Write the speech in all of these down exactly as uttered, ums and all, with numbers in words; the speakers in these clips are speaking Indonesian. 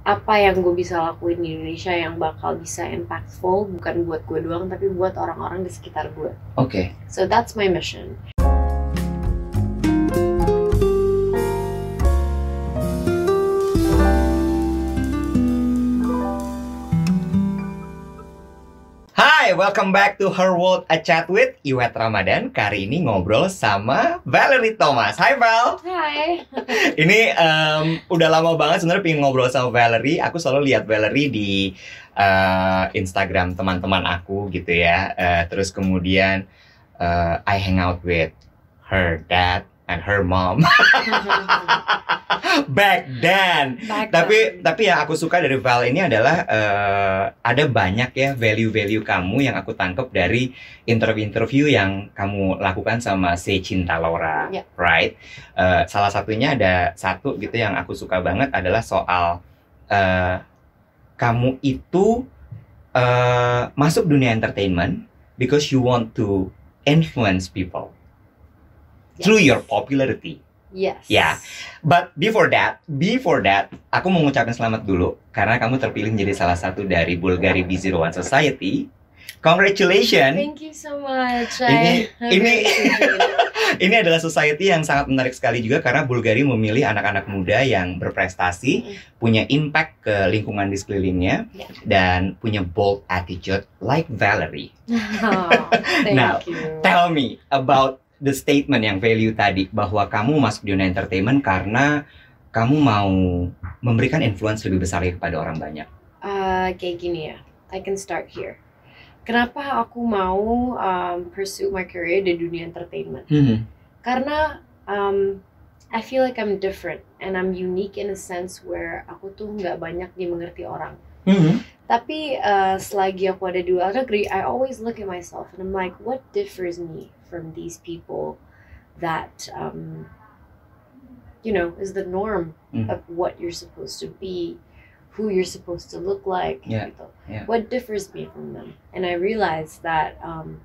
apa yang gue bisa lakuin di Indonesia yang bakal bisa impactful, bukan buat gue doang tapi buat orang-orang di sekitar gue. Oke. Okay. So that's my mission. Hai, welcome back to Her World A Chat with Iwet Ramadan. Kali ini ngobrol sama Valerie Thomas. Hai Val. Hai. Ini um, udah lama banget sebenarnya pengen ngobrol sama Valerie. Aku selalu lihat Valerie di uh, Instagram teman-teman aku gitu ya. Uh, terus kemudian uh, I hang out with her dad and her mom. Back then. Back tapi then. tapi yang aku suka dari Val ini adalah uh, ada banyak ya value-value kamu yang aku tangkap dari interview-interview yang kamu lakukan sama Si Cinta Laura, yeah. Right? Uh, salah satunya ada satu gitu yang aku suka banget adalah soal uh, kamu itu uh, masuk dunia entertainment because you want to influence people yes. through your popularity. Yes. Ya, yeah. But before that, before that, aku mau ngucapin selamat dulu karena kamu terpilih menjadi salah satu dari Bulgari B zero one Society. Congratulations. Thank you so much. Ini ini ini adalah society yang sangat menarik sekali juga karena Bulgari memilih anak-anak muda yang berprestasi, mm. punya impact ke lingkungan di sekelilingnya, yeah. dan punya bold attitude like Valerie. Oh, thank Now, you. Tell me about the statement yang value tadi bahwa kamu masuk dunia entertainment karena kamu mau memberikan influence lebih besar kepada orang banyak. Uh, kayak gini ya, I can start here. Kenapa aku mau um, pursue my career di dunia entertainment? Mm-hmm. Karena um, I feel like I'm different and I'm unique in a sense where aku tuh nggak banyak dimengerti orang. Mm-hmm. Tapi uh, selagi aku ada di luar negeri, I always look at myself and I'm like, what differs me from these people that, um, you know, is the norm mm. of what you're supposed to be, who you're supposed to look like, yeah. gitu. Yeah. What differs me from them? And I realized that um,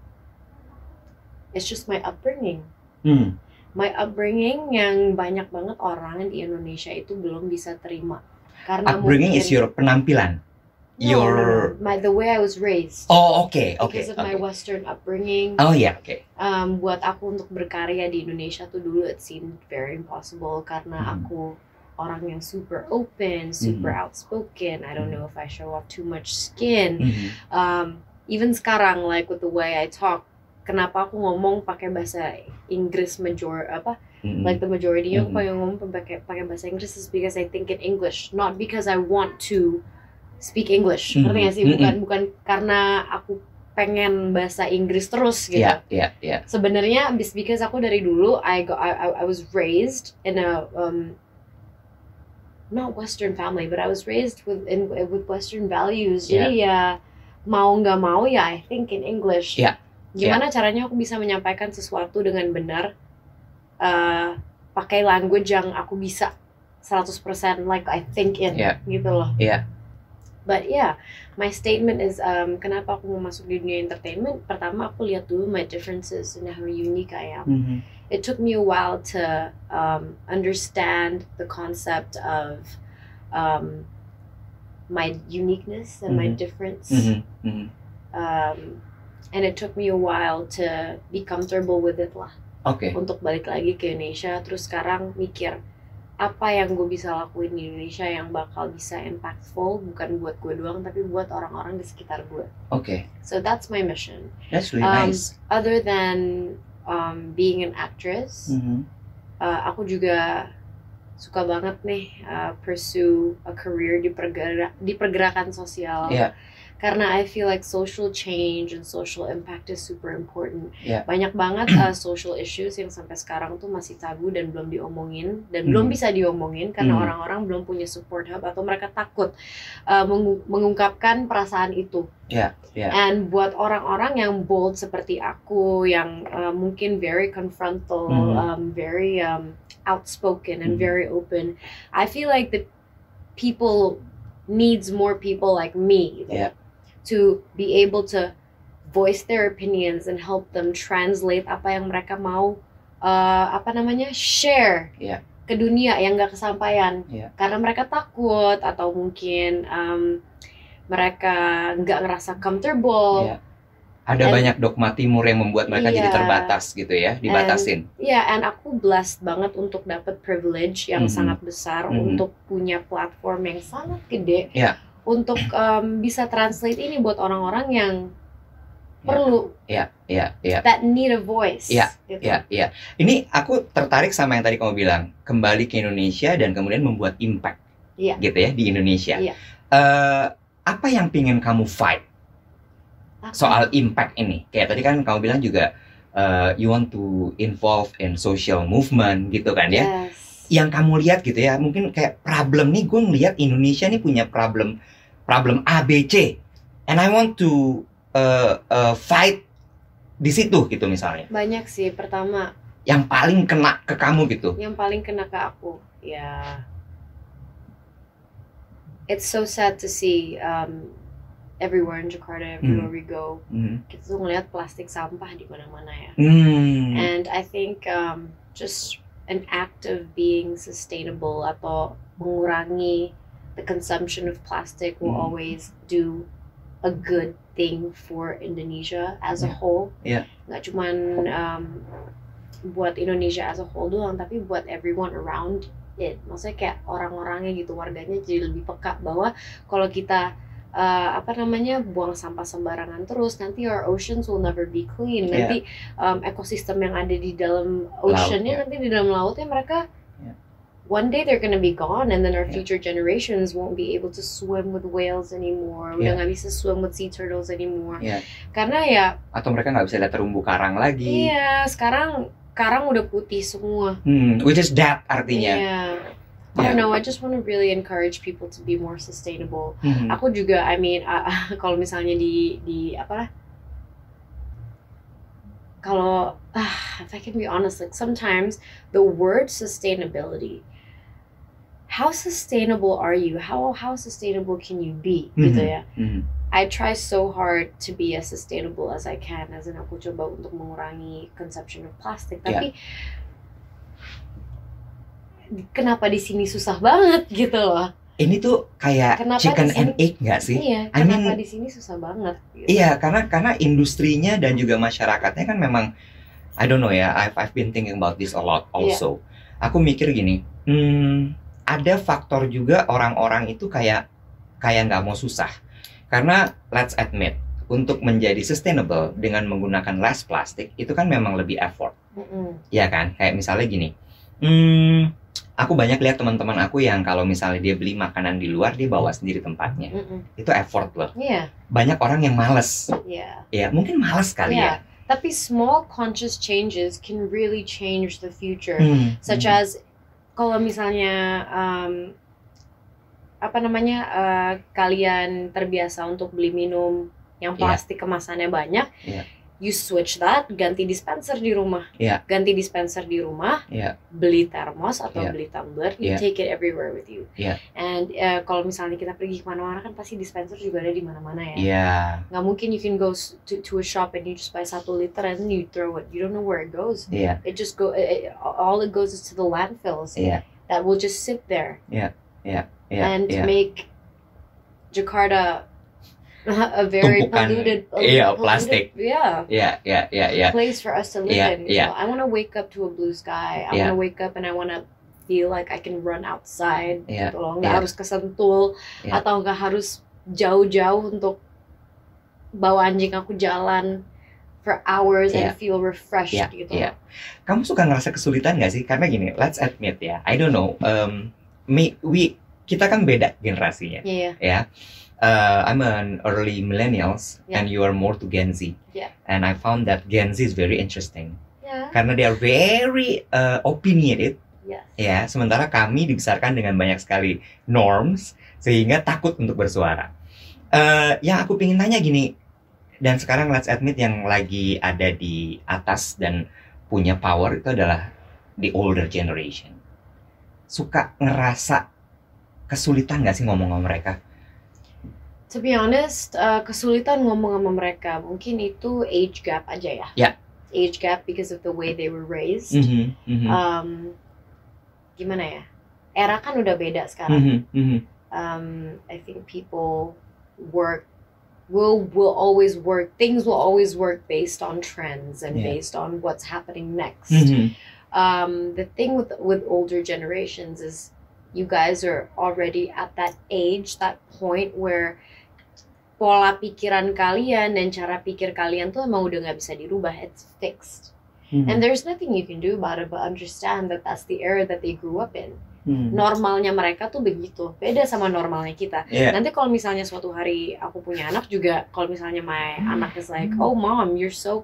it's just my upbringing. Mm. My upbringing yang banyak banget orang di Indonesia itu belum bisa terima. Karena upbringing mungkin, is your penampilan? No, your no, no. My, the way I was raised. Oh, oke, okay, oke. Okay, because of okay. my Western upbringing. Oh, ya, yeah, oke. Okay. Um, buat aku untuk berkarya di Indonesia tuh dulu it seemed very impossible karena mm. aku orang yang super open, super mm. outspoken. I don't know if I show off too much skin. Mm-hmm. Um, even sekarang, like with the way I talk, kenapa aku ngomong pakai bahasa Inggris major apa? Mm-hmm. Like the majority mm-hmm. aku yang ngomong pakai pakai bahasa Inggris is because I think in English, not because I want to speak English. Ngerti mm-hmm. gak sih? Bukan mm-hmm. bukan karena aku pengen bahasa Inggris terus gitu. Yeah, yeah, yeah. Sebenarnya because aku dari dulu I go I I was raised in a um not Western family, but I was raised with in with Western values. Yeah. Jadi ya mau nggak mau ya I think in English. Yeah. Gimana yeah. caranya aku bisa menyampaikan sesuatu dengan benar uh, pakai language yang aku bisa seratus persen like I think in yeah. gitu loh. Yeah. But yeah, my statement is um, kenapa aku mau masuk di dunia entertainment? Pertama aku lihat dulu my differences and how unique I am. Mm-hmm. It took me a while to um, understand the concept of um, my uniqueness and mm-hmm. my difference. Mm-hmm. Mm-hmm. Um, and it took me a while to be comfortable with it lah. Oke. Okay. Untuk balik lagi ke Indonesia, terus sekarang mikir apa yang gue bisa lakuin di Indonesia yang bakal bisa impactful, bukan buat gue doang tapi buat orang-orang di sekitar gue. Oke. Okay. So that's my mission. That's really um, nice. Other than um, being an actress, mm-hmm. uh, aku juga suka banget nih uh, pursue a career di pergerak di pergerakan sosial. Yeah. Karena I feel like social change and social impact is super important. Yeah. Banyak banget uh, social issues yang sampai sekarang tuh masih tabu dan belum diomongin dan mm. belum bisa diomongin karena mm. orang-orang belum punya support hub atau mereka takut uh, mengu- mengungkapkan perasaan itu. Yeah. Yeah. And buat orang-orang yang bold seperti aku yang uh, mungkin very confrontal, mm. um, very um, outspoken and mm. very open, I feel like the people needs more people like me. Gitu. Yeah. To be able to voice their opinions and help them translate apa yang mereka mau uh, apa namanya share yeah. ke dunia yang nggak kesampaian Yeah. karena mereka takut atau mungkin um, mereka nggak ngerasa comfortable. Yeah. Ada And- banyak dogma timur yang membuat mereka jadi Iya. terbatas gitu ya, dibatasin. Ya, and aku blessed banget untuk dapat privilege yang Mhm. sangat besar Mhm. untuk punya platform yang sangat gede Iya. untuk um, bisa translate ini buat orang-orang yang perlu Iya, iya, iya. that need a voice. Iya, gitu. Iya, iya. Ini aku tertarik sama yang tadi kamu bilang, kembali ke Indonesia dan kemudian membuat impact, Iya. gitu ya di Indonesia. Iya. Eh, apa yang pingin kamu fight Apa? soal impact ini? Kayak tadi kan kamu bilang juga, eh, you want to involve in social movement, gitu kan ya? Yes. Yang kamu lihat gitu ya, mungkin kayak problem nih, gue ngelihat Indonesia nih punya problem, problem A, B, C, and I want to uh, uh, fight di situ gitu misalnya. Banyak sih. Pertama, Yang paling kena ke kamu gitu. yang paling kena ke aku, ya, it's so sad to see um, everywhere in Jakarta, everywhere we go, Hmm. kita tuh ngeliat plastik sampah di mana-mana ya. Hmm. And I think um, just an act of being sustainable atau mengurangi the consumption of plastic will Hmm. always do a good thing for Indonesia as a Yeah. whole. Yeah. Nggak cuman um, buat Indonesia as a whole doang, tapi buat everyone around it. Maksudnya kayak orang-orangnya gitu, warganya jadi lebih peka bahwa kalau kita uh, apa namanya buang sampah sembarangan terus, nanti our oceans will never be clean. Yeah. Nanti um, ekosistem yang ada di dalam oceannya, Laut, ya. nanti di dalam lautnya mereka Yeah. one day they're gonna be gone, and then our Yeah. future generations won't be able to swim with whales anymore. Yeah. Udah nggak bisa swim with sea turtles anymore. Yeah. Karena ya, Atau mereka nggak bisa lihat terumbu karang lagi. iya sekarang karang udah putih semua. Hmm. Which is that artinya. Iya. I Yeah. don't know. I just want to really encourage people to be more sustainable. Hmm. Aku juga, I mean, uh, kalau misalnya di di apa? Kalau, ah, if I can be honest, like sometimes the word sustainability, how sustainable are you? How how sustainable can you be? Gitu Mhm. ya. Hmm. I try so hard to be as sustainable as I can, as in aku coba untuk mengurangi consumption of plastic. Tapi kenapa di sini susah banget gitu loh? Ini tuh kayak Kenapa chicken di sini- and egg nggak sih? Iya, I kenapa mean- di sini susah banget? Gitu. Iya, karena karena industrinya dan juga masyarakatnya kan memang, I don't know ya, I've I've been thinking about this a lot also. Aku mikir gini, hmm, ada faktor juga orang-orang itu kayak kayak nggak mau susah. Karena let's admit, untuk menjadi sustainable dengan menggunakan less plastik itu kan memang lebih effort, Mm-mm. ya kan? Kayak misalnya gini, hmm, aku banyak lihat teman-teman aku yang kalau misalnya dia beli makanan di luar dia bawa sendiri tempatnya, Mm-mm. itu effort loh. Iya, Banyak orang yang males, iya. ya mungkin males kali Iya. ya. Tapi small conscious changes can really change the future. Hmm, Such hmm. as kalau misalnya um, apa namanya uh, kalian terbiasa untuk beli minum yang Iya. plastik kemasannya banyak, Iya. you switch that, ganti dispenser di rumah, Iya. ganti dispenser di rumah, Iya. beli termos atau Iya. beli tumbler, you Iya. take it everywhere with you. Iya. And uh, kalau misalnya kita pergi kemana-mana kan pasti dispenser juga ada di mana-mana ya. Iya. Nggak mungkin you can go s- to, to a shop and you just buy satu liter and then you throw it. You don't know where it goes. Iya. It just go. It, it- all it goes is to the landfills Iya. that will just sit there Iya. and Iya. make Jakarta a very Tumpukan, polluted, iya, polluted- plastik. yeah, Iya. Iya. Iya. Iya. place for us to live Iya, in. iya. So I want to wake up to a blue sky. I Iya. want to wake up and I want to feel like I can run outside. Iya, Gitu loh. Nggak iya. harus ke Sentul Iya. atau nggak harus jauh-jauh untuk bawa anjing aku jalan for hours Iya. and feel refreshed Iya, gitu. iya. Kamu suka ngerasa kesulitan nggak sih? Karena gini, let's admit ya, I don't know, um, me, we, kita kan beda generasinya, Iya, ya. Uh, I'm an early millennials, Yeah. and you are more to Gen Z. Yeah. And I found that Gen Z is very interesting, iya. karena they are very uh, opinionated, Yes. ya. Sementara kami dibesarkan dengan banyak sekali norms, sehingga takut untuk bersuara. Uh, yang aku pengen tanya gini, dan sekarang let's admit yang lagi ada di atas dan punya power itu adalah the older generation. Suka ngerasa kesulitan nggak sih ngomong sama mereka? To be honest, uh, kesulitan ngomong sama mereka mungkin itu age gap aja ya. Ya. Age gap because of the way they were raised. Mhm, mhm. Um, gimana ya? Era kan udah beda sekarang. Mhm, mhm. Um, I think people work will will always work. Things will always work based on trends and Yeah. based on what's happening next. Mhm. Um, the thing with with older generations is you guys are already at that age, that point where pola pikiran kalian dan cara pikir kalian tuh emang udah nggak bisa dirubah. It's fixed. Mhm. And there's nothing you can do about it but understand that that's the era that they grew up in. Mhm. Normalnya mereka tuh begitu, beda sama normalnya kita. Yeah. Nanti kalau misalnya suatu hari aku punya anak juga, kalau misalnya my anak is like, oh mom, you're so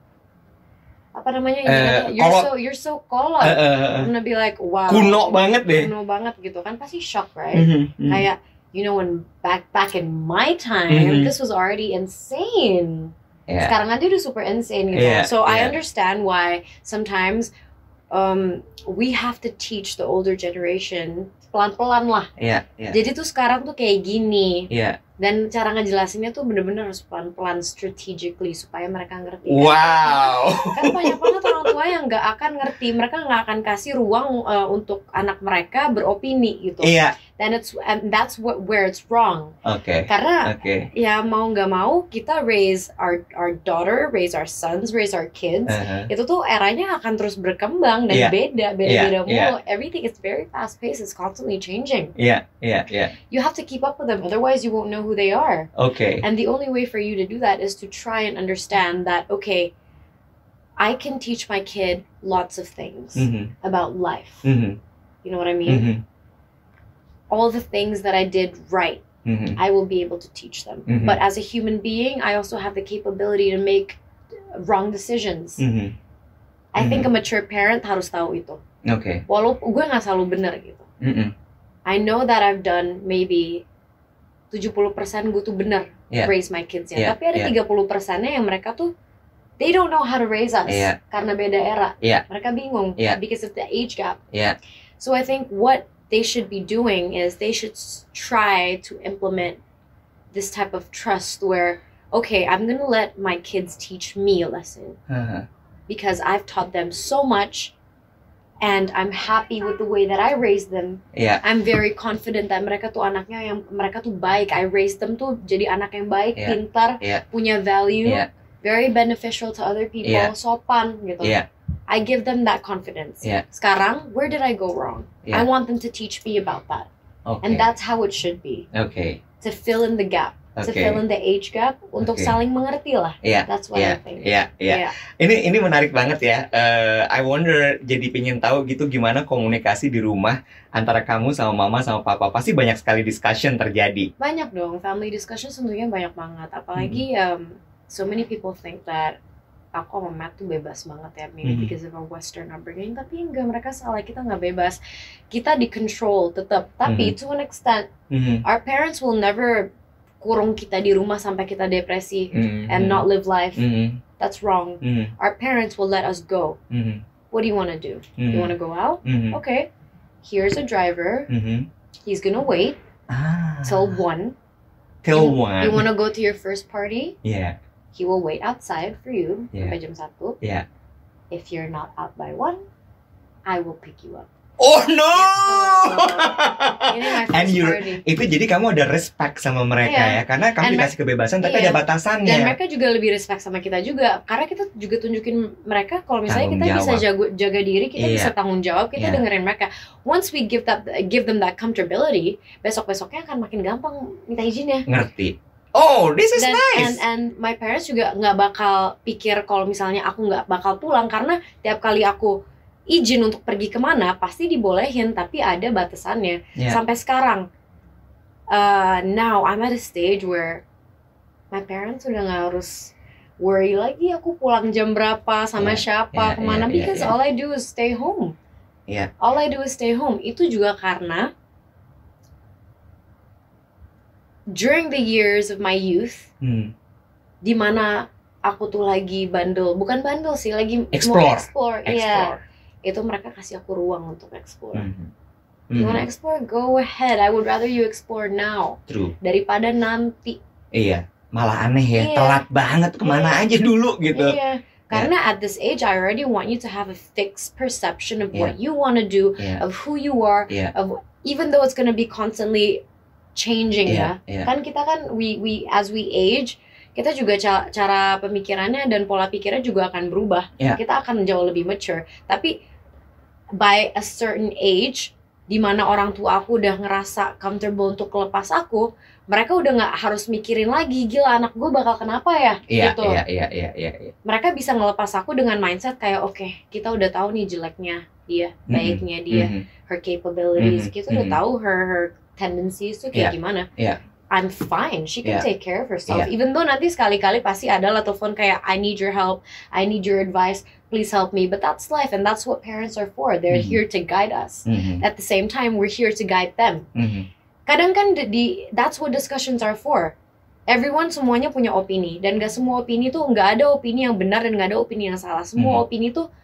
apa namanya, Eh, you're kolot. so you're so kolot. Eh, eh, eh. I'm gonna be like, wow, Kuno banget deh. kuno banget gitu kan, pasti shock, right? Mhm, mhm. Kayak, you know, when back back in my time, Mhm. this was already insane. Yeah. Sekarang aja udah super insane gitu. Yeah, So I yeah. understand why sometimes um, we have to teach the older generation pelan-pelan lah. Iya, iya. Jadi tuh sekarang tuh kayak gini. Iya. Dan cara ngejelasinnya tuh bener-bener harus pelan-pelan, strategically, supaya mereka ngerti. Kan- Wow. Kan banyak banget orang tua yang nggak akan ngerti. Mereka nggak akan kasih ruang uh, untuk anak mereka beropini gitu. Iya. Dan it's and that's what where it's wrong. Oke. Karena Oke. ya mau nggak mau kita raise our our daughter, raise our sons, raise our kids. Uh-huh. Itu tuh eranya akan terus berkembang dan Iya. beda, beda-beda Iya, mulu. Everything is very fast paced, it's constantly changing. Iya, iya, iya. You have to keep up with them, otherwise you won't know who they are. Oke. And the only way for you to do that is to try and understand that, okay, I can teach my kid lots of things Mhm, about life. mhm, You know what I mean? mhm, All the things that I did right, mhm. I will be able to teach them. Mhm. But as a human being, I also have the capability to make wrong decisions. Mhm. I think a Mhm. mature parent harus tahu itu. Oke. Walaupun gue nggak selalu benar gitu. Mhm. I know that I've done maybe tujuh puluh persen gue tuh benar Yeah. raise my kids ya. Yeah, Tapi ada yeah. tiga puluh persennya yang mereka tuh they don't know how to raise us Yeah. karena beda era. Yeah. Mereka bingung Yeah. because of the age gap. Yeah. So I think what they should be doing is they should s- try to implement this type of trust where, okay, I'm gonna let my kids teach me a lesson Uh-huh. because I've taught them so much and I'm happy with the way that I raised them. Iya. I'm very confident that mereka tuh anaknya yang mereka tuh baik. I raised them tuh jadi anak yang baik, Yeah. pintar, Yeah. punya value, Yeah. very beneficial to other people, Yeah. sopan gitu. Iya. I give them that confidence. Yeah. Sekarang, where did I go wrong? Yeah. I want them to teach me about that. Oke. And that's how it should be. Oke. To fill in the gap. To Oke. fill in the age gap. Untuk Oke. saling mengerti lah. Iya. That's what Iya. I think. Iya. Iya. Yeah. Ini ini menarik banget ya. Eh, I wonder, jadi pengen tahu gitu gimana komunikasi di rumah antara kamu sama mama sama papa. Pasti banyak sekali discussion terjadi. Banyak dong. Family discussion tentunya banyak banget. Apalagi Mm-hmm. um, so many people think that aku sama Matt tuh bebas banget ya. Maybe Mhm. because of our Western upbringing. Tapi enggak, mereka salah. Kita nggak bebas. Kita di-control tetap. Tapi Mhm. to an extent, Mhm. our parents will never kurung kita di rumah sampai kita depresi Mhm. and not live life. Mhm. That's wrong. Mhm. Our parents will let us go. Mhm. What do you want to do? Mhm. You want to go out? Mhm. Okay. Here's a driver. Mhm. He's gonna wait Ah. till one. Till You- one. You want to go to your first party? Iya. He will wait outside for you Yeah. sampai jam satu. Yeah. If you're not out by one, I will pick you up. Oh no. Ini my And first you party. itu jadi kamu ada respect sama mereka Iya. ya, karena kamu And dikasih kebebasan tapi iya. ada batasannya. Dan mereka juga lebih respect sama kita juga, karena kita juga tunjukin mereka kalau misalnya Tanggung kita bisa jawab. jago, jaga diri, kita Iya. bisa tanggung jawab, kita Iya. dengerin mereka. Once we give that give them that comfortability, besok-besoknya akan makin gampang minta izinnya. Ngerti. Oh, this is Dan nice. and and my parents juga nggak bakal pikir kalau misalnya aku nggak bakal pulang, karena tiap kali aku izin untuk pergi kemana pasti dibolehin, tapi ada batasannya. Yeah. Sampai sekarang, uh, now I'm at a stage where my parents udah nggak harus worry lagi aku pulang jam berapa sama Yeah, siapa yeah, kemana, yeah, because yeah, yeah. all I do is stay home. Yeah. All I do is stay home. Itu juga karena during the years of my youth, Hmm. di mana aku tuh lagi bandel, bukan bandel sih, lagi Explore. mau explore, iya. Explore. Itu mereka kasih aku ruang untuk explore. Mhm. You wanna Mhm. explore? Go ahead. I would rather you explore now True. daripada nanti. Iya. Malah aneh ya, Iya. telat banget kemana Iya. aja dulu gitu. Iya. Karena at this age, I already want you to have a fixed perception of Yeah. what you want to do, Yeah. of who you are, Yeah. of even though it's going to be constantly changing Yeah, ya. yeah. Kan kita kan we we as we age, kita juga ca- cara pemikirannya dan pola pikirnya juga akan berubah. Yeah. Kita akan jauh lebih mature. Tapi by a certain age, di mana orang tua aku udah ngerasa comfortable untuk lepas aku, mereka udah nggak harus mikirin lagi, gila anak gue bakal kenapa ya, Iya, gitu. iya, iya, iya, iya, iya. Mereka bisa ngelepas aku dengan mindset kayak oke, kita udah tahu nih jeleknya dia, Mhm. baiknya dia, Mhm. her capabilities, Mhm, kita udah mhm. tahu her her tendencies tuh kayak Yeah, gimana. yeah. I'm fine, she can Yeah. take care of herself. Yeah. Even though nanti sekali-kali pasti ada lah telepon kayak I need your help, I need your advice, please help me. But that's life and that's what parents are for. They're Mhm. here to guide us. Mhm. At the same time, we're here to guide them. Mhm. Kadang kan di, di that's what discussions are for. Everyone semuanya punya opini dan gak semua opini tuh nggak ada opini yang benar dan nggak ada opini yang salah. Semua Mhm. opini tuh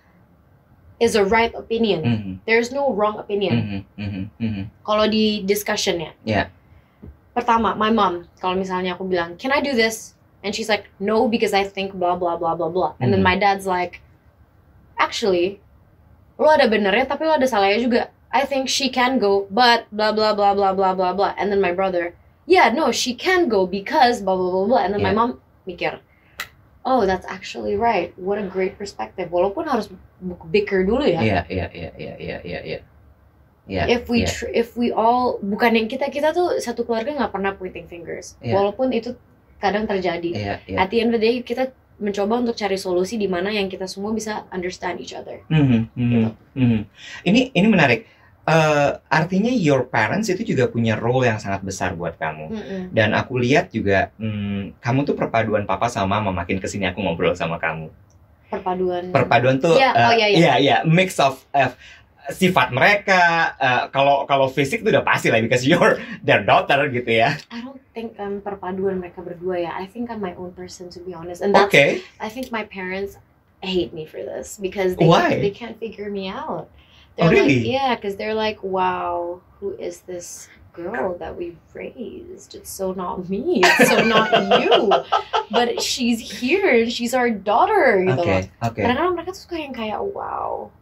is a right opinion. Mhm. There's no wrong opinion. Mhm. Mhm. Mhm. Kalau di discussionnya. Yeah. Pertama, my mom, kalau misalnya aku bilang, can I do this? And she's like, no, because I think blah blah blah blah blah. And then Mhm. my dad's like, actually, lo ada benernya tapi lo ada salahnya juga. I think she can go, but blah blah blah blah blah blah blah. And then my brother, yeah, no, she can go because blah blah blah blah. And then my Yeah. mom mikir, oh, that's actually right. What a great perspective. Walaupun harus bicker dulu ya. Iya, iya, iya, iya, iya, iya, iya. Iya, If we iya. tr- if we all bukan yang kita kita tuh satu keluarga nggak pernah pointing fingers. Iya. Walaupun itu kadang terjadi. Iya, iya. At the end of the day kita mencoba untuk cari solusi di mana yang kita semua bisa understand each other. Mhm, mhm, Gitu. mhm. Ini ini menarik. Eh, artinya your parents itu juga punya role yang sangat besar buat kamu. Mm-mm. Dan aku lihat juga hmm, kamu tuh perpaduan papa sama mama. Makin kesini aku ngobrol sama kamu. Perpaduan. Perpaduan tuh Iya, eh, oh, iya, iya. iya, iya, mix of eh, sifat mereka. eh, Kalau kalau fisik tuh udah pasti lah because you're their daughter gitu ya. I don't think um, perpaduan mereka berdua ya. I think I'm my own person to be honest. And that's Oke. I think my parents hate me for this because they Why? they can't figure me out. Oh, They're really? like, yeah, because they're like, wow, who is this girl that we've raised? It's so not me. It's so not you. But she's here and she's our daughter. Gitu Oke, loh. oke. Kadang-kadang mereka tuh suka yang kayak, wow.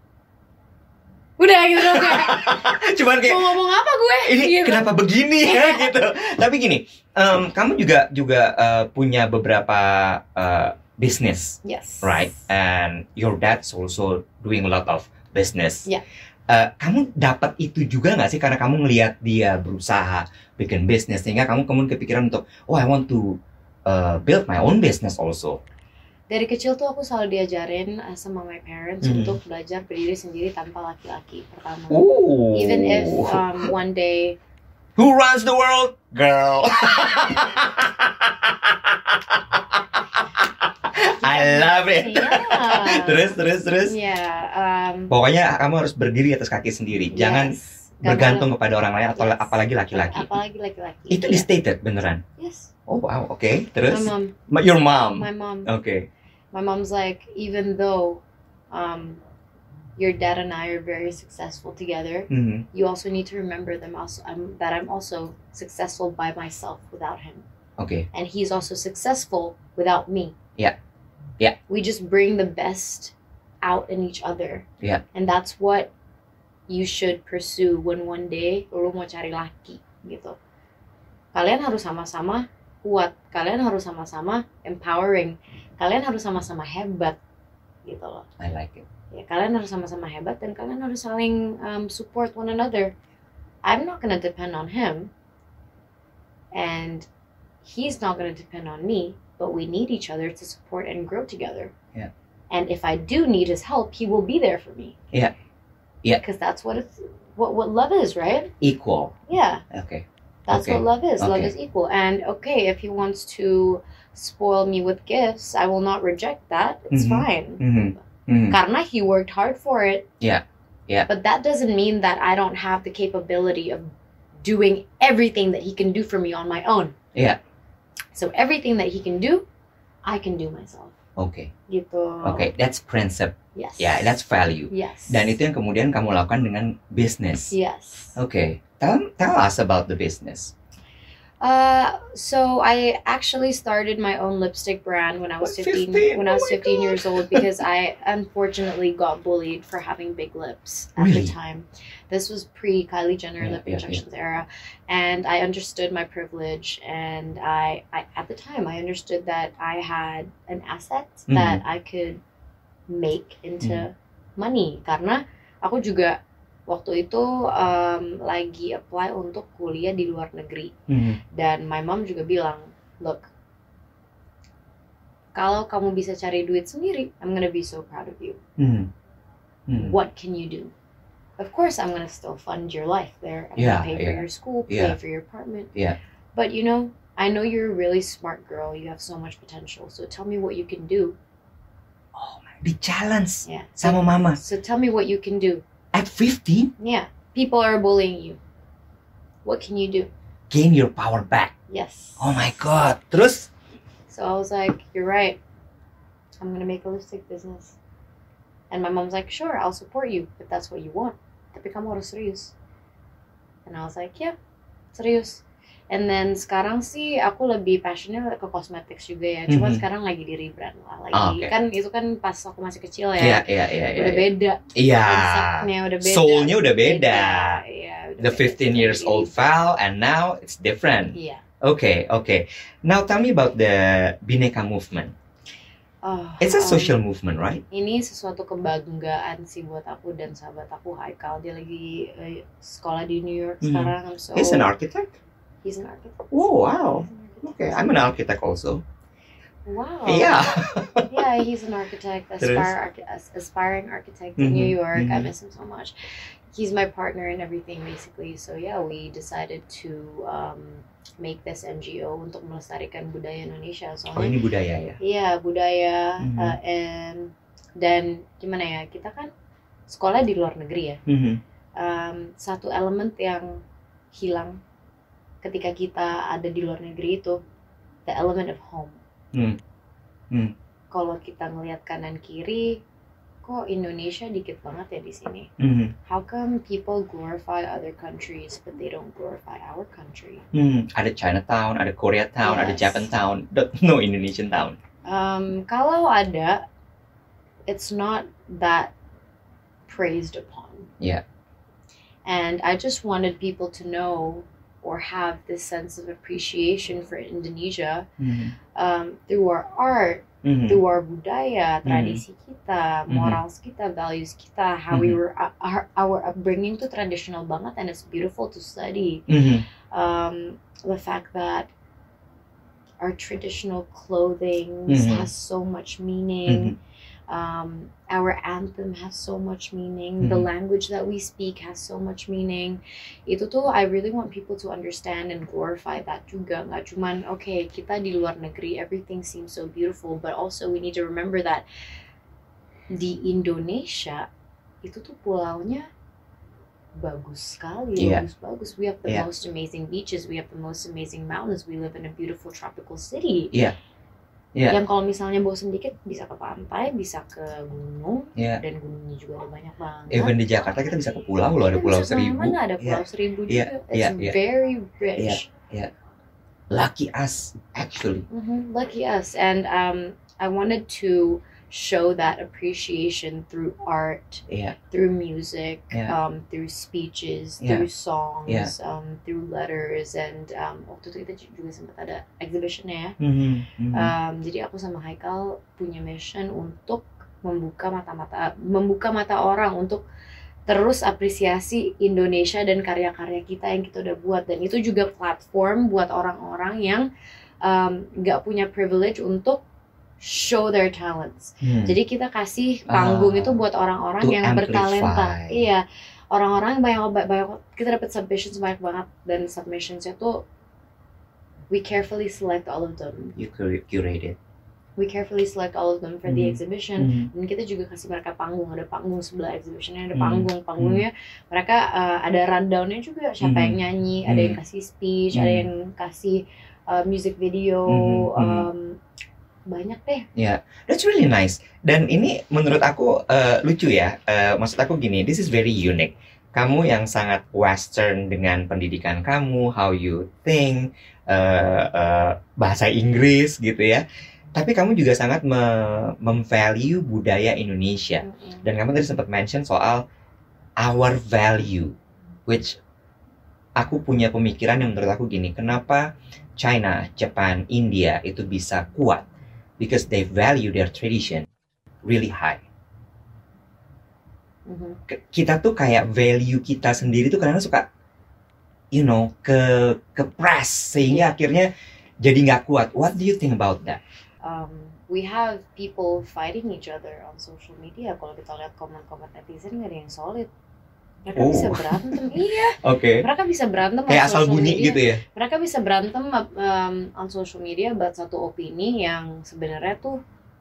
Udah gitu dong kayak, Cuman kayak mau ngomong apa gue? ini Gitu. kenapa begini ya gitu. Tapi gini, em, kamu juga juga eh, punya beberapa eh, business, Yes. right? And your dad's also doing a lot of business. Yeah. Eh, kamu dapat itu juga nggak sih karena kamu ngelihat dia berusaha bikin bisnis sehingga kamu kemudian kepikiran untuk, oh I want to uh, build my own business also. Dari kecil tuh aku selalu diajarin uh, sama my parents Hmm. untuk belajar berdiri sendiri tanpa laki-laki pertama. Ooh. Even if um, one day Who runs the world? Girl. I love it. Yeah. Terus, terus, terus. Yeah, um, Pokoknya kamu harus berdiri atas kaki sendiri. Jangan yes. Gak bergantung boleh- kepada orang lain atau Yes. apalagi laki-laki. Apalagi laki-laki. Itu Yeah. di stated beneran. Yes. Oh wow, oke. My Terus mom, Ma- your mom. my mom, Oke. my mom's like, even though um, your dad and I are very successful together, Mhm. you also need to remember them also um, that I'm also successful by myself without him. Oke. And he's also successful without me. Yeah. Yeah. We just bring the best out in each other. Yeah. And that's what you should pursue when one day lu mau cari laki gitu. Kalian harus sama-sama kuat. Kalian harus sama-sama empowering. Kalian harus sama-sama hebat gitu loh. I like it. Ya, kalian harus sama-sama hebat dan kalian harus saling um, support one another. I'm not gonna depend on him, and he's not gonna depend on me. But we need each other to support and grow together. Yeah. And if I do need his help, he will be there for me. Yeah. Yeah. Because that's what it's what what love is, right? Equal. Yeah. Oke. That's Okay. what love is. Love Okay. is equal. And okay, if he wants to spoil me with gifts, I will not reject that. It's Mhm. fine. Mhm. Mhm. Karena he worked hard for it. Yeah. Yeah. But that doesn't mean that I don't have the capability of doing everything that he can do for me on my own. Yeah. So everything that he can do, I can do myself. Oke. Gitu. Oke, that's principle. Yes. Ya, that's value. Yes. Dan itu yang kemudian kamu lakukan dengan business. Yes. Oke. Tell tell us about the business. Uh, so I actually started my own lipstick brand when I was fifteen. fifteen? When I was Oh my fifteen God. years old, because I unfortunately got bullied for having big lips at Really? the time. This was pre Kylie Jenner Yeah, lip yeah, injections era, and I understood my privilege. And I, I, at the time, I understood that I had an asset Mhm. that I could make into money. Karena aku juga waktu itu um, lagi apply untuk kuliah di luar negeri. Mhm. Dan my mom juga bilang, look, kalau kamu bisa cari duit sendiri, I'm gonna be so proud of you. Mhm. Mhm. What can you do? Of course, I'm gonna still fund your life there. I'm Yeah, gonna pay for yeah, your school, pay yeah. for your apartment. Yeah. But you know, I know you're a really smart girl. You have so much potential. So tell me what you can do. Oh my, di challenge Yeah. sama mama So tell me what you can do. at fifteen. Yeah. People are bullying you. What can you do? Gain your power back. Yes. Oh my God. Terus? So I was like, you're right. I'm gonna make a lipstick business. And my mom's like, sure, I'll support you if that's what you want. Tapi kamu harus serius. And I was like, yeah, serius. And then sekarang sih aku lebih passionnya ke cosmetics juga ya. Cuman Mhm. sekarang lagi di rebrand lah lagi. Oh, oke. Kan itu kan pas aku masih kecil ya. Iya, iya, iya, iya. Udah beda. Iya. Konsepnya udah beda. Soulnya udah beda. Iya, udah The beda. fifteen years old Val and now it's different. Iya. Okay, okay. Now tell me about the Bhinneka movement. Oh, It's a um, social movement, right? Ini sesuatu kebanggaan sih buat aku dan sahabat aku Haikal. Dia lagi eh, sekolah di New York Mhm. sekarang. So He's an architect. he's an architect. Oh, wow. He's an architect. Okay, I'm an architect also. Wow. Yeah. Yeah, he's an architect, Terus? aspire, archi- as- aspiring architect in Mhm, New York. I mhm. miss him so much. He's my partner in everything basically. So yeah, we decided to um, make this N G O untuk melestarikan budaya Indonesia. Oh, Soalnya ini budaya ya. iya budaya Mhm. uh, and dan gimana ya, kita kan sekolah di luar negeri ya. Mhm. Um, satu elemen yang hilang ketika kita ada di luar negeri itu the element of home. Hmm. Hmm. Kalau kita ngelihat kanan kiri, kok Indonesia dikit banget ya di sini. Mhm. How come people glorify other countries but they don't glorify our country? Hmm. Ada Chinatown, ada Koreatown, ada Yes. Japantown, but no Indonesian town. Um, kalau ada, it's not that praised upon. Yeah. And I just wanted people to know or have this sense of appreciation for Indonesia Mhm. um, through our art, Mhm. through our budaya, Mhm. tradisi kita, Mhm. morals kita, values kita, how we Mhm. were, uh, our, our upbringing tuh traditional banget and it's beautiful to study. Mhm. Um, the fact that our traditional clothing Mhm. has so much meaning. Mhm. Um, our anthem has so much meaning. The Mhm. language that we speak has so much meaning. Itu tuh I really want people to understand and glorify that juga. Nggak cuman okay kita di luar negeri everything seems so beautiful, but also we need to remember that di Indonesia itu tuh pulaunya bagus sekali, Iya. bagus-bagus. We have the Iya. most amazing beaches, we have the most amazing mountains, we live in a beautiful tropical city. Iya. Iya. Yang kalau misalnya bosen dikit bisa ke pantai, bisa ke gunung, Iya. dan gunungnya juga ada banyak banget. Even di Jakarta kita bisa ke pulau loh, ada Kita Pulau bisa Seribu. kemana-mana, ada Iya. Pulau Seribu Iya, juga. iya, It's iya. very rich. Lucky us, actually. Mhm, lucky us. And um, I wanted to show that appreciation through art, Iya. through music, Yeah. um, through speeches, Yeah. through songs, Yeah. um, through letters, and um, waktu itu kita juga sempat ada exhibitionnya ya. Mhm. Mhm. Um, jadi aku sama Haikal punya mission untuk membuka mata-mata, membuka mata orang untuk terus apresiasi Indonesia dan karya-karya kita yang kita udah buat, dan itu juga platform buat orang-orang yang um, nggak punya privilege untuk show their talents. Hmm. Jadi kita kasih panggung Ah, itu buat orang-orang to yang amplify. bertalenta. Iya, orang-orang yang banyak, banyak kita dapat submissions banyak banget, dan submissionsnya tuh we carefully select all of them. You cur- curated. We carefully select all of them for the Mhm. exhibition. Mhm. Dan kita juga kasih mereka panggung, ada panggung sebelah exhibitionnya, ada Hmm. panggung, panggungnya mereka uh, ada rundownnya juga, siapa Hmm. yang nyanyi, ada yang Hmm. kasih speech, Hmm. ada yang kasih uh, music video, Hmm. Hmm. um, banyak deh. That's really nice. Dan ini menurut aku uh, lucu ya. Uh, maksud aku gini, this is very unique. kamu yang sangat Western dengan pendidikan kamu, how you think, uh, uh, bahasa Inggris gitu ya. Tapi kamu juga sangat me- memvalue budaya Indonesia. Mm-mm. Dan kamu tadi sempat mention soal our value, which aku punya pemikiran yang menurut aku gini, kenapa China, Japan, India itu bisa kuat? Because they value their tradition really high. Mhm. K- Kita tuh kayak value kita sendiri tuh kadang suka, you know, ke ke press sehingga akhirnya jadi nggak kuat. What do you think about that? Um, we have people fighting each other on social media. Kalau kita lihat komen-komen netizen nggak ada yang solid. Mereka Oh. bisa berantem, iya. Oke. Mereka bisa berantem Kayak on asal social bunyi media. gitu ya. Mereka bisa berantem um, on social media buat satu opini yang sebenarnya tuh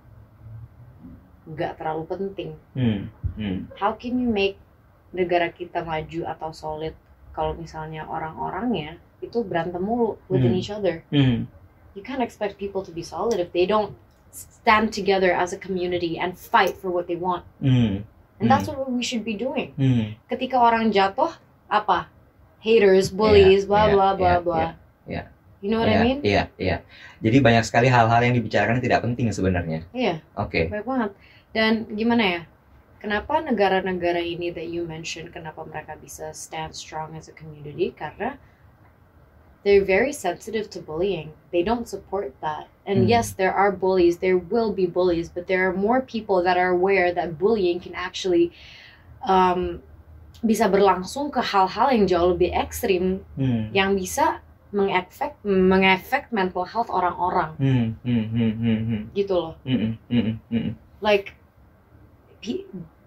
nggak terlalu penting. Hmm. Hmm. How can you make negara kita maju atau solid kalau misalnya orang-orangnya itu berantem mulu within Hmm. each other? Hmm. You can't expect people to be solid if they don't stand together as a community and fight for what they want. Hmm. And that's what we should be doing. Hmm. Ketika orang jatuh, apa? Haters, bullies, Yeah, blah yeah, blah blah yeah, blah. yeah, yeah. You know what Iya, I mean? Iya, iya. Jadi banyak sekali hal-hal yang dibicarakan yang tidak penting sebenarnya. Iya, Oke. baik banget. Dan gimana ya? Kenapa negara-negara ini that you mentioned, kenapa mereka bisa stand strong as a community? Karena they're very sensitive to bullying. They don't support that. And Hmm. yes, there are bullies. There will be bullies, but there are more people that are aware that bullying can actually um, bisa berlangsung ke hal-hal yang jauh lebih ekstrim, Hmm. yang bisa mengefek mengefek mental health orang-orang, Hmm. Hmm. Hmm. Hmm. Hmm. gitu loh. Hmm. Hmm. Hmm. Like, pe-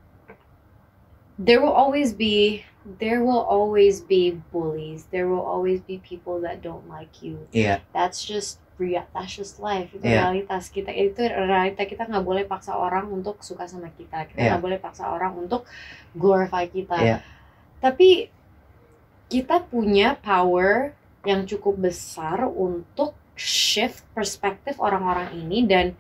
there will always be there will always be bullies. There will always be people that don't like you. Iya. That's just real. That's just life. Itu Yeah. realitas kita. Itu realita kita. Nggak boleh paksa orang untuk suka sama kita. Kita Yeah. nggak boleh paksa orang untuk glorify kita. Yeah. Tapi kita punya power yang cukup besar untuk shift perspektif orang-orang ini dan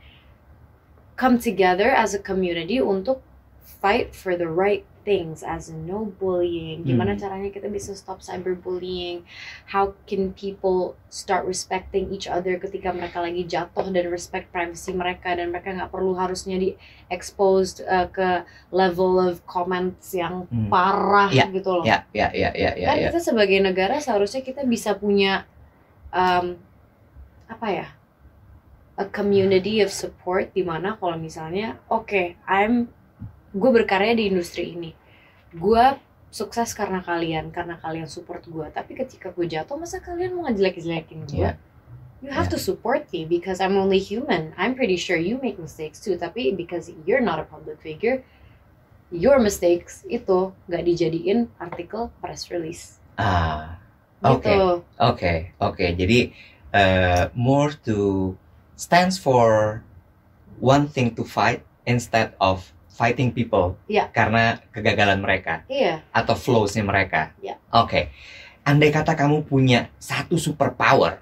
come together as a community untuk fight for the right things, as in no bullying. Gimana Hmm. caranya kita bisa stop cyberbullying? How can people start respecting each other ketika mereka lagi jatuh, dan respect privacy mereka, dan mereka nggak perlu harusnya di exposed uh, ke level of comments yang Hmm. parah Ya, gitu loh. Ya, ya, ya, ya, ya, Kan ya. kita sebagai negara seharusnya kita bisa punya um, apa ya, a community of support, di mana kalau misalnya oke, okay, I'm gue berkarya di industri ini, gue sukses karena kalian, karena kalian support gue. Tapi ketika gue jatuh, masa kalian mau ngejelek-jelekin gue? Yeah. You have Yeah. to support me because I'm only human. I'm pretty sure you make mistakes too, tapi because you're not a public figure, your mistakes itu gak dijadiin artikel press release. Ah. Gitu. Oke. Oke. Oke. Jadi uh, more to stands for one thing to fight instead of fighting people. Iya. Karena kegagalan mereka Iya. atau flaws-nya mereka. Iya. Oke. Andai kata kamu punya satu superpower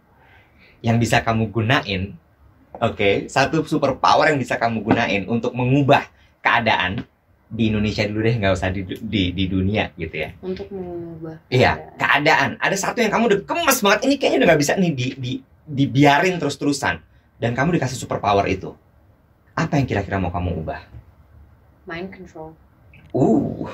yang bisa kamu gunain, oke, satu superpower yang bisa kamu gunain untuk mengubah keadaan di Indonesia dulu deh, nggak usah di, di di dunia gitu ya. Untuk mengubah Iya, keadaan. Ada satu yang kamu udah gemes banget, ini kayaknya udah nggak bisa nih di, di dibiarin terus-terusan, dan kamu dikasih superpower itu. Apa yang kira-kira mau kamu ubah? mind control. Uh,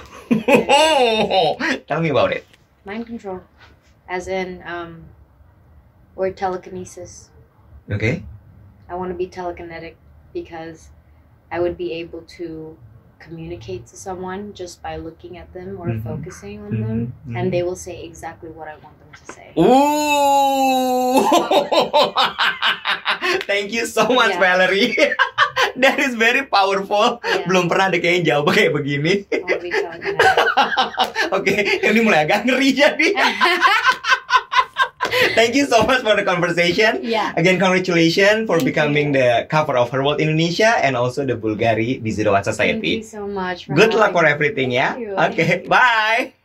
tell me about it. Mind control, as in um, or telekinesis. Okay. I want to be telekinetic because I would be able to communicate to someone just by looking at them or Mhm. focusing on Mhm, them, mhm. and they will say exactly what I want them to say. Ooh, thank you so much, Yeah. Valerie. That is very powerful. Yeah. Belum pernah ada kayaknya jawab kayak begini. I want to be telekinetic. Oke, ini mulai agak ngeri jadi. Thank you so much for the conversation. Yeah. Again, congratulations for Thank becoming you. the cover of Her World Indonesia and also the Bulgari di Zero One Thank you Society. so much. For Good luck having for me. everything ya. Thank you. Oke, Thank you. bye.